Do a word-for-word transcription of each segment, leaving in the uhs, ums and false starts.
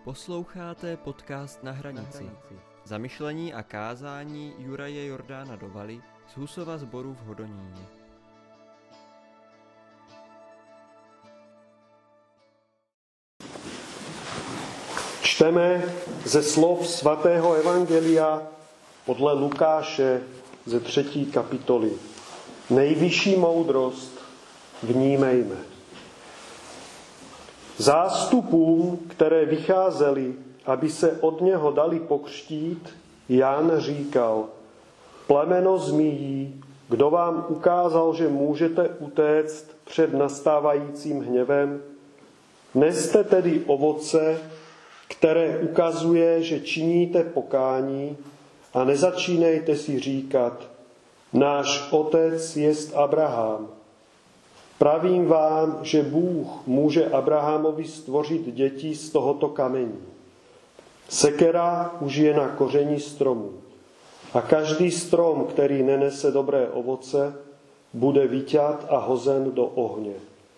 Posloucháte podcast Na hranici. Zamyšlení a kázání Juraje Jordána Dovaly z Husova sboru v Hodoníně. Čteme ze slov svatého evangelia podle Lukáše ze třetí kapitoly. Nejvyšší moudrost vnímejme. Zástupům, které vycházeli, aby se od něho dali pokřtít, Jan říkal: Plemeno zmíjí, kdo vám ukázal, že můžete utéct před nastávajícím hněvem? Neste tedy ovoce, které ukazuje, že činíte pokání, a nezačínejte si říkat: náš otec jest Abraham. Pravím vám, že Bůh může Abrahamovi stvořit děti z tohoto kamení. Sekera už je na koření stromu. A každý strom, který nenese dobré ovoce, bude vyťat a hozen do ohně.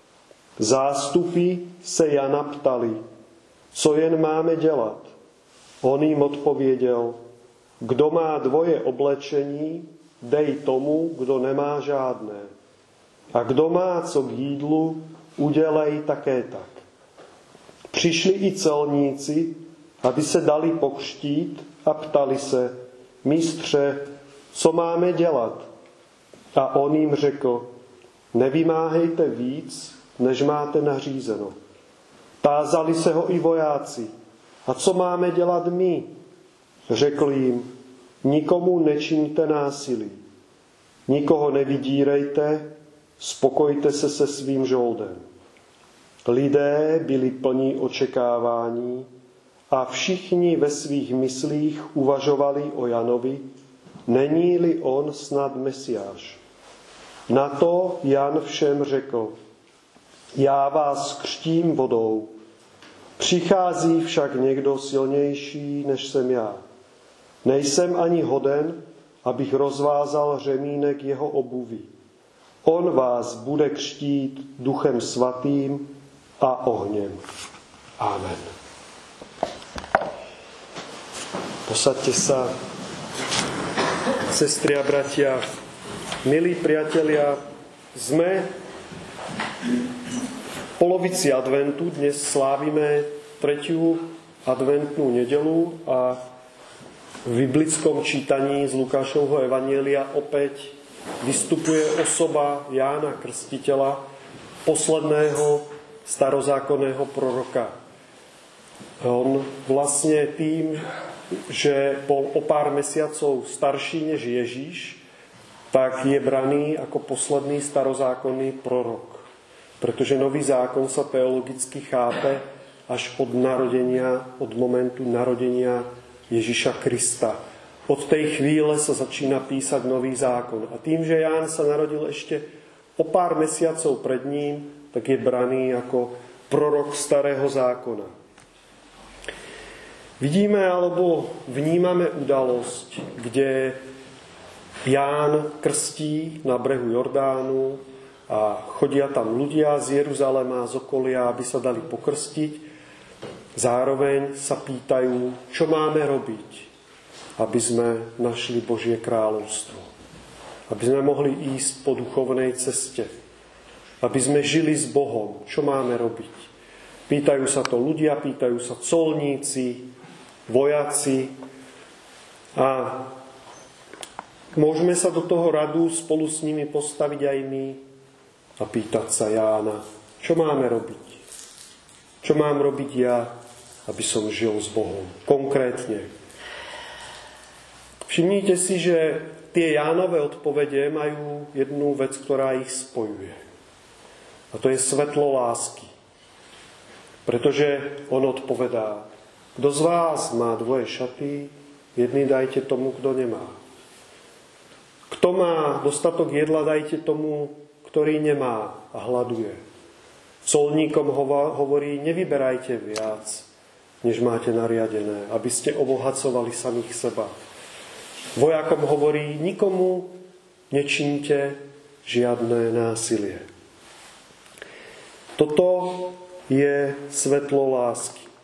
Zástupy se Jana ptali: co jen máme dělat? On jim odpověděl: kdo má dvoje oblečení, dej tomu, kdo nemá žádné. A kdo má co k jídlu, udělej také tak. Přišli i celníci, aby se dali pokřtít, a ptali se: mistře, co máme dělat? A on jim řekl: nevymáhejte víc, než máte nařízeno. Tázali se ho i vojáci: a co máme dělat my? Řekl jim: nikomu nečiňte násilí, nikoho nevydírejte, spokojte se se svým žoldem. Lidé byli plní očekávání a všichni ve svých myslích uvažovali o Janovi, není-li on snad Mesiáš. Na to Jan všem řekl: já vás křtím vodou, přichází však někdo silnější, než jsem já. Nejsem ani hoden, abych rozvázal řemínek jeho obuví. On vás bude křtít Duchem Svatým a ohněm. Amen. Posaďte sa, sestry a bratia, milí priatelia, sme v polovici adventu, dnes slávime tretiu adventnú nedeľu a v biblickom čítaní z Lukášovho evanjelia opäť vystupuje osoba Jána Krstiteľa, posledného starozákonného proroka. On vlastne tým, že bol o pár mesiacov starší než Ježíš, tak je braný ako posledný starozákonný prorok. Pretože nový zákon sa teologicky chápe až od narodenia, od momentu narodenia Ježiša Krista. Od tej chvíle sa začína písať nový zákon. A tým, že Ján sa narodil ešte o pár mesiacov pred ním, tak je braný ako prorok starého zákona. Vidíme alebo vnímame udalosť, kde Ján krstí na brehu Jordánu a chodia tam ľudia z Jeruzalema, z okolia, aby sa dali pokrstiť. Zároveň sa pýtajú, čo máme robiť, aby sme našli Božie kráľovstvo. Aby sme mohli ísť po duchovnej ceste. Aby sme žili s Bohom. Čo máme robiť? Pýtajú sa to ľudia, pýtajú sa colníci, vojaci. A môžeme sa do toho radu spolu s nimi postaviť aj my a pýtať sa Jána, čo máme robiť? Čo mám robiť ja, aby som žil s Bohom? Konkrétne. Všimnite si, že tie Jánove odpovede majú jednu vec, ktorá ich spojuje. A to je svetlo lásky. Pretože on odpovedá: kto z vás má dvoje šaty, jedny dajte tomu, kto nemá. Kto má dostatok jedla, dajte tomu, ktorý nemá a hladuje. Colníkom hovorí: nevyberajte viac, než máte nariadené, aby ste obohacovali samých seba. Vojakom hovorí: nikomu nečínte žiadne násilie. Toto je svetlo lásky.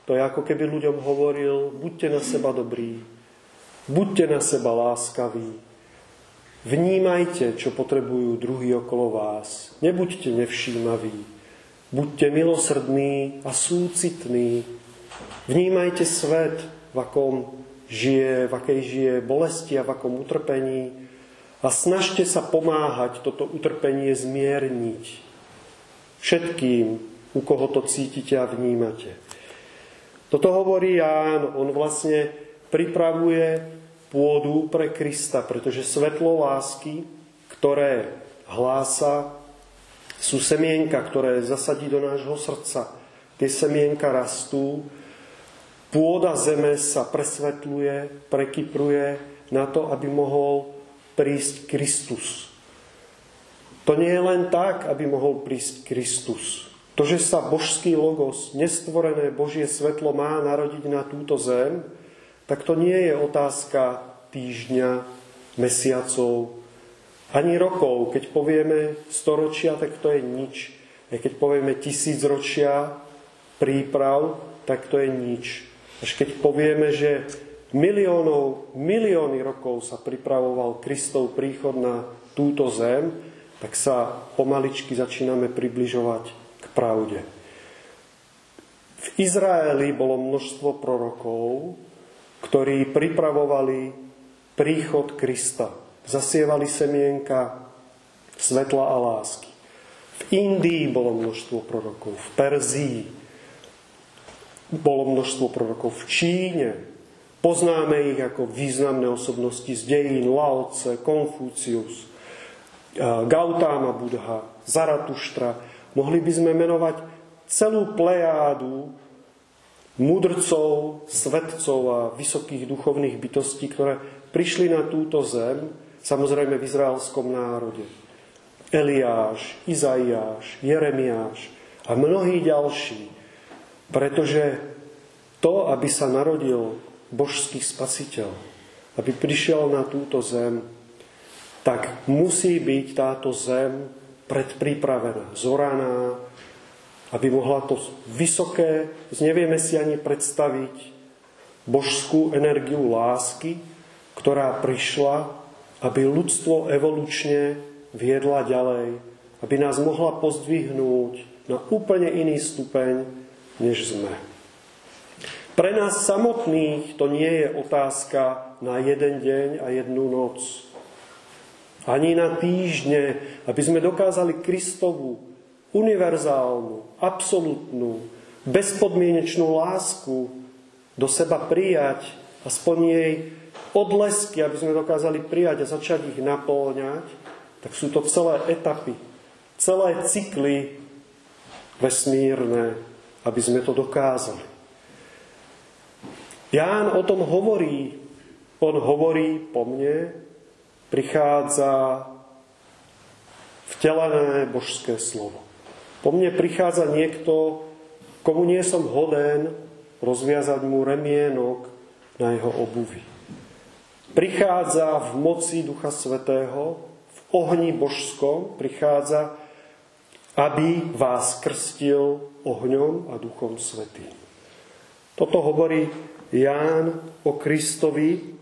to je ako keby ľuďom hovoril, buďte na seba dobrí, buďte na seba láskaví, vnímajte, čo potrebujú druhí okolo vás, nebuďte nevšímaví, buďte milosrdní a súcitní, vnímajte svet, v akom žije, v akej žije bolesti a v akom utrpení a snažte sa pomáhať toto utrpenie zmierniť všetkým, u koho to cítite a vnímate. Toto hovorí Ján, on vlastne pripravuje pôdu pre Krista, pretože svetlo lásky, ktoré hlása, sú semienka, ktoré zasadí do nášho srdca. Tie semienka rastú, pôda zeme sa presvetľuje, prekypruje na to, aby mohol prísť Kristus. To nie je len tak, aby mohol prísť Kristus. To, že sa božský logos, nestvorené Božie svetlo má narodiť na túto zem, tak to nie je otázka týždňa, mesiacov, ani rokov. Keď povieme storočia, tak to je nič. A keď povieme tisícročia príprav, tak to je nič. Až keď povieme, že miliónov, milióny rokov sa pripravoval Kristov príchod na túto zem, tak sa pomaličky začíname približovať k pravde. V Izraeli bolo množstvo prorokov, ktorí pripravovali príchod Krista. Zasievali semienka svetla a lásky. V Indii bolo množstvo prorokov, v Perzii bolo množstvo prorokov, v Číne. Poznáme ich ako významné osobnosti z dejín, Lao Tse, Konfúcius, Gautama Buddha, Zaratuštra. Mohli by sme menovať celú plejádu mudrcov, svetcov a vysokých duchovných bytostí, ktoré prišli na túto zem, samozrejme v izraelskom národe. Eliáš, Izaiáš, Jeremiáš a mnohí ďalší. Pretože to, aby sa narodil božský spasiteľ, aby prišiel na túto zem, tak musí byť táto zem predpripravená, zoraná, aby mohla to vysoké, nevieme si ani predstaviť, božskú energiu lásky, ktorá prišla, aby ľudstvo evolučne viedla ďalej, aby nás mohla pozdvihnúť na úplne iný stupeň, než sme. Pre nás samotných to nie je otázka na jeden deň a jednu noc. Ani na týždne, aby sme dokázali Kristovu univerzálnu, absolútnu, bezpodmienečnú lásku do seba prijať, aspoň jej odlesky, aby sme dokázali prijať a začať ich napĺňať, tak sú to celé etapy, celé cykly vesmírne, aby sme to dokázali. Ján o tom hovorí, on hovorí po mne, prichádza vtelené božské slovo. Po mne prichádza niekto, komu nie som hoden rozviazať mu remienok na jeho obuvi. Prichádza v moci Ducha Svätého, v ohni božskom, prichádza, aby vás krstil ohňom a Duchom Svätým. Toto hovorí Ján o Kristovi,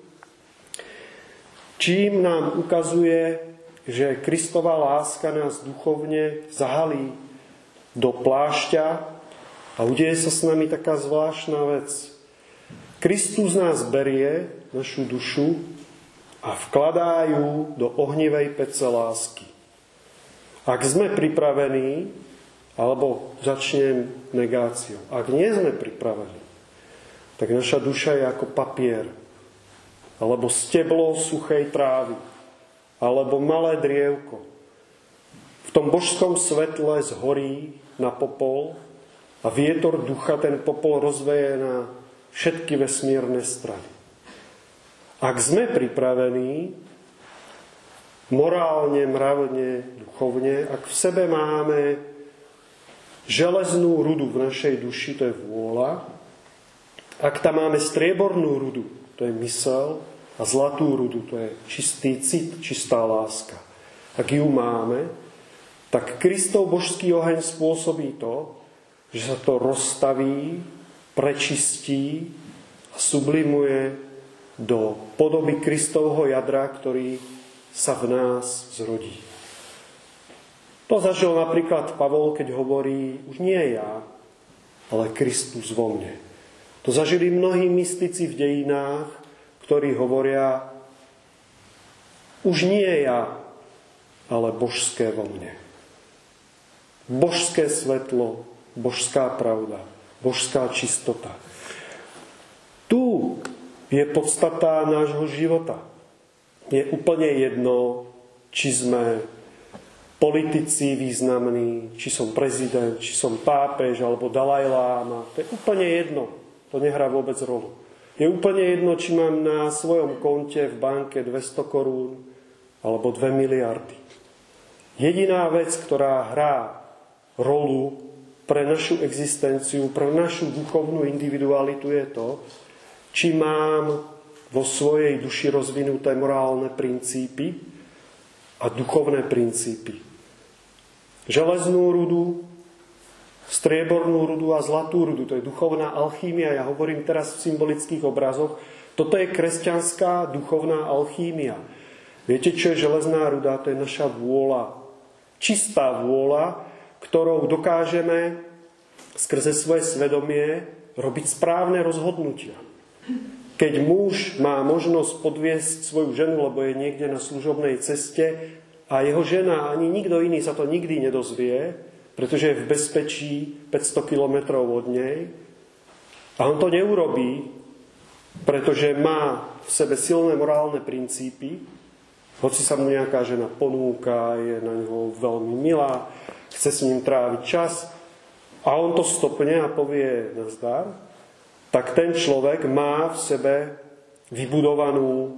čím nám ukazuje, že Kristova láska nás duchovne zahalí do plášťa a udeje sa s nami taká zvláštna vec. Kristus nás berie, našu dušu, a vkladá ju do ohnivej pece lásky. Ak sme pripravení, alebo začnem negáciou, ak nie sme pripravení, tak naša duša je ako papier, alebo steblo suchej trávy, alebo malé drievko. V tom božskom svetle zhorí na popol a vietor ducha ten popol rozveje na všetky vesmírne strany. Ak sme pripravení, morálne, mravne, duchovne, ak v sebe máme železnú rudu v našej duši, to je vôľa, ak tam máme striebornú rudu, to je mysel, a zlatú rudu, to je čistý cit, čistá láska. Ak ju máme, tak Kristov božský oheň spôsobí to, že sa to rozstaví prečistí a sublimuje do podoby Kristovho jadra, ktorý sa v nás zrodí. To zažil napríklad Pavol, keď hovorí, už nie ja, ale Kristus vo mne. To zažili mnohí mystici v dejinách, ktorí hovoria, už nie ja, ale božské vo mne. Božské svetlo, božská pravda, božská čistota. Tu je podstata nášho života. Je úplne jedno, či sme politici významní, či som prezident, či som pápež alebo Dalajláma. To je úplne jedno. To nehrá vôbec rolu. Je úplne jedno, či mám na svojom konte v banke dvesto korún alebo dve miliardy. Jediná vec, ktorá hrá rolu pre našu existenciu, pre našu duchovnú individualitu je to, či mám vo svojej duši rozvinuté morálne princípy a duchovné princípy. Železnú rudu, striebornú rudu a zlatú rudu. To je duchovná alchýmia. Ja hovorím teraz v symbolických obrazoch. Toto je kresťanská duchovná alchýmia. Viete, čo je železná ruda? To je naša vôľa. Čistá vôľa, ktorou dokážeme skrze svoje svedomie robiť správne rozhodnutia. Keď muž má možnosť podviesť svoju ženu, lebo je niekde na služobnej ceste a jeho žena, ani nikto iný sa to nikdy nedozvie, pretože je v bezpečí päťsto kilometrov od nej. A on to neurobí, pretože má v sebe silné morálne princípy, hoci sa mu nejaká žena ponúka, je na ňoho veľmi milá, chce s ním tráviť čas a on to stopne a povie nazdar, tak ten človek má v sebe vybudovanú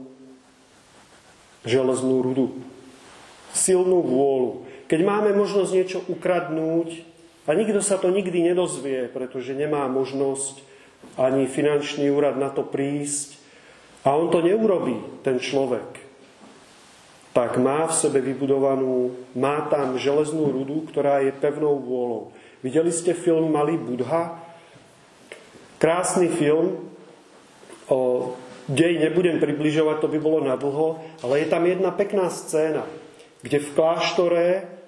železnú rudu. Silnú vôľu. Keď máme možnosť niečo ukradnúť a nikto sa to nikdy nedozvie, pretože nemá možnosť ani finančný úrad na to prísť a on to neurobí, ten človek, tak má v sebe vybudovanú, má tam železnú rudu, ktorá je pevnou vôľou. Videli ste film Malý Budha? Krásny film, o dej nebudem približovať, to by bolo nadlho, ale je tam jedna pekná scéna, kde v kláštore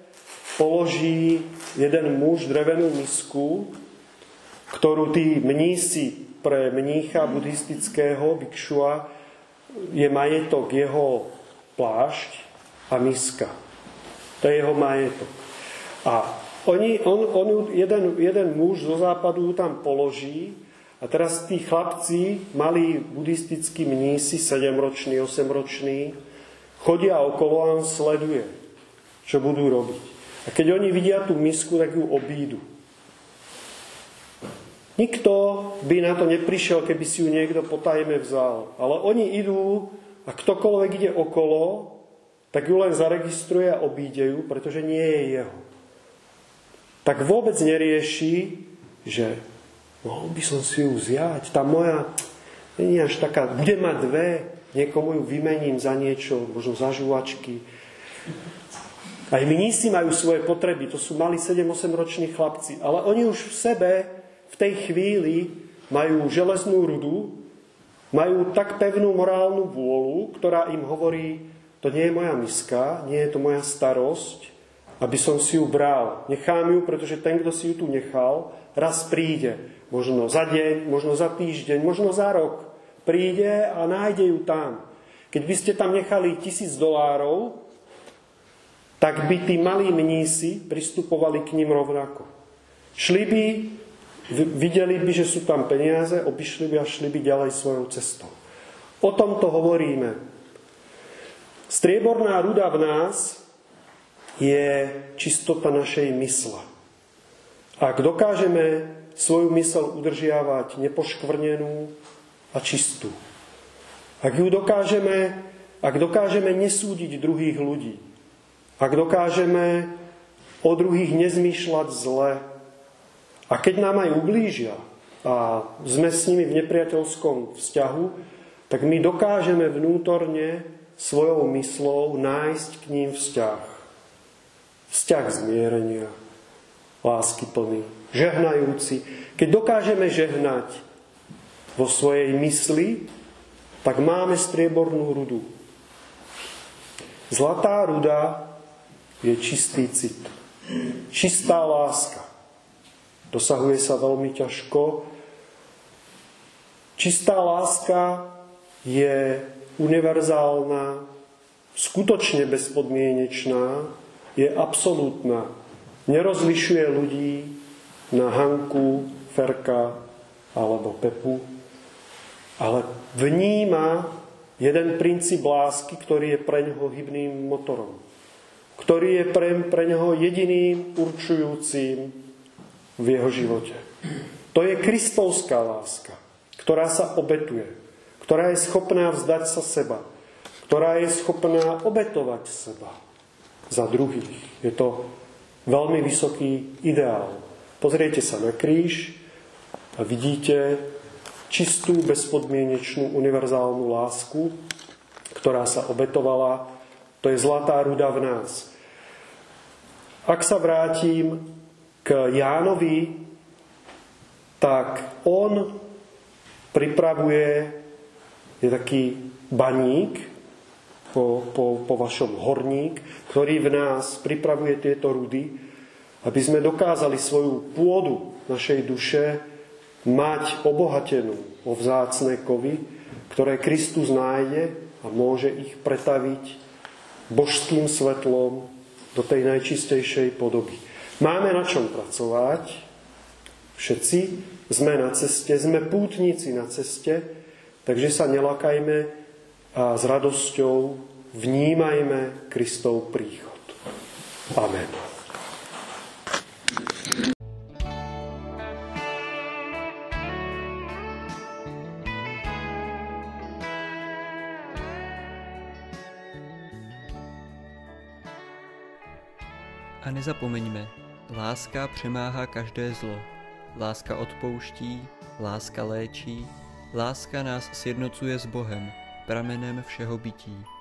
položí jeden muž drevenú misku, ktorú tí mnísi pre mnícha buddhistického bikšua je majetok jeho plášť a miska. To je jeho majetok. A oni, on, on jeden, jeden muž zo západu ju tam položí a teraz tí chlapci, malí buddhistickí mnísi, sedemroční, osemroční, chodia okolo a on sleduje, čo budú robiť. A keď oni vidia tú misku, tak ju obídu. Nikto by na to neprišiel, keby si ju niekto potajme vzal. Ale oni idú a ktokoľvek ide okolo, tak ju len zaregistruje a obíde ju, pretože nie je jeho. Tak vôbec nerieši, že mohol by som si ju vziať. Tá moja nie je až taká, bude mať dve, niekomu ju vymením za niečo, možno za žuvačky. Aj mnísi majú svoje potreby, to sú mali sedem osem roční chlapci, ale oni už v sebe v tej chvíli majú železnú rudu, majú tak pevnú morálnu vôľu, ktorá im hovorí, to nie je moja miska, nie je to moja starosť, aby som si ju bral. Nechám ju, pretože ten, kto si ju tu nechal, raz príde. Možno za deň, možno za týždeň, možno za rok. Príde a nájde ju tam. Keď by ste tam nechali tisíc dolárov, tak by tí malí mnísi pristupovali k ním rovnako. Šli by, videli by, že sú tam peniaze, obišli by a šli by ďalej svojou cestou. O tomto hovoríme. Strieborná ruda v nás je čistota našej mysle. Ak dokážeme svoju mysel udržiavať nepoškvrnenú a čistú, ak ju dokážeme, ak dokážeme nesúdiť druhých ľudí, ak dokážeme o druhých nezmýšľať zle, a keď nám aj ublížia a sme s nimi v nepriateľskom vzťahu, tak my dokážeme vnútorne svojou myslou nájsť k ním vzťah. Vzťah zmierenia, láskyplný, žehnajúci. Keď dokážeme žehnať vo svojej mysli, tak máme striebornú rudu. Zlatá ruda je čistý cit. Čistá láska. Dosahuje sa veľmi ťažko. Čistá láska je univerzálna, skutočne bezpodmienečná, je absolútna. Nerozlišuje ľudí na Hanku, Ferka alebo Pepu, ale vníma jeden princíp lásky, ktorý je pre ňoho hybným motorom, ktorý je pre, pre ňoho jediným určujúcim v jeho živote. To je kristovská láska, ktorá sa obetuje, ktorá je schopná vzdať sa seba, ktorá je schopná obetovať seba za druhých. Je to veľmi vysoký ideál. Pozriete sa na kríž a vidíte čistú, bezpodmienečnú, univerzálnu lásku, ktorá sa obetovala. To je zlatá ruda v nás. Ak sa vrátim k Jánovi, tak on pripravuje, je taký baník po, po, po vašom horník, ktorý v nás pripravuje tieto rudy, aby sme dokázali svoju pôdu našej duše mať obohatenú o vzácne kovy, ktoré Kristus nájde a môže ich pretaviť božským svetlom do tej najčistejšej podoby. Máme na čom pracovať. Všetci sme na ceste, sme pútnici na ceste, takže sa nelakajme a s radosťou vnímajme Kristov príchod. Amen. A nezapomeňme, láska přemáhá každé zlo. Láska odpouští, láska léčí, láska nás sjednocuje s Bohem, pramenem všeho bytí.